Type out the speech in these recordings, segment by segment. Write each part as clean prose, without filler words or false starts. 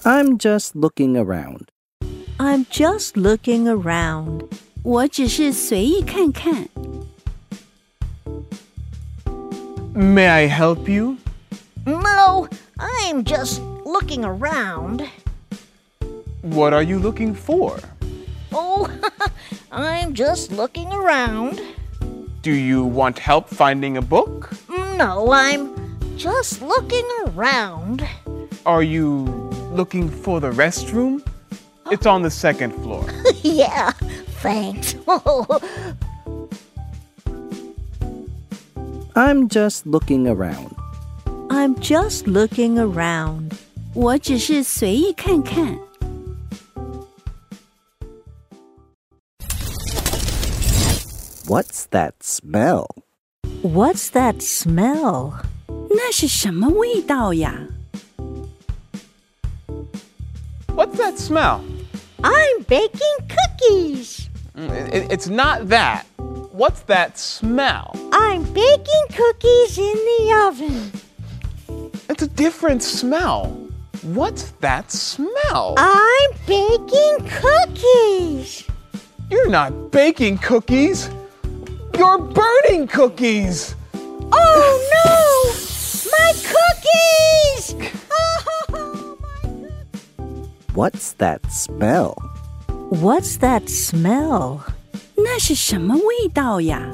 I'm just looking around. I'm just looking around. 我只是随意看看。 May I help you? No, I'm just looking around. What are you looking for? Oh, I'm just looking around. Do you want help finding a book? No, I'm just looking around. Are you looking for the restroom? It's on the second floor. Yeah, thanks. I'm just looking around. I'm just looking around. 我只是随意看看。 What's that smell? What's that smell? 那是什么味道呀？ What's that smell? I'm baking cookies. It's not that. What's that smell? I'm baking cookies in the oven. It's a different smell. What's that smell? I'm baking cookies. You're not baking cookies. You're burning cookies. Oh no! My cookies! Oh, What's that smell? What's that smell? 那是什么味道呀？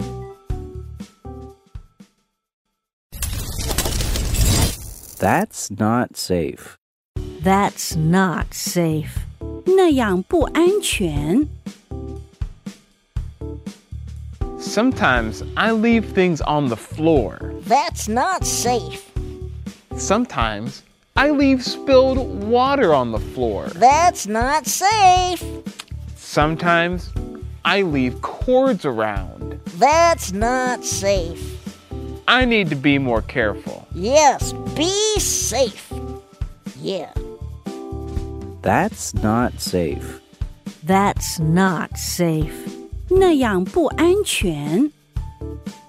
That's not safe. That's not safe. 那样不安全。 Sometimes I leave things on the floor. That's not safe. Sometimes I leave spilled water on the floor. That's not safe. Sometimes I leave cords around. That's not safe. I need to be more careful. Yes, be safe. Yeah. That's not safe. That's not safe. 那样不安全。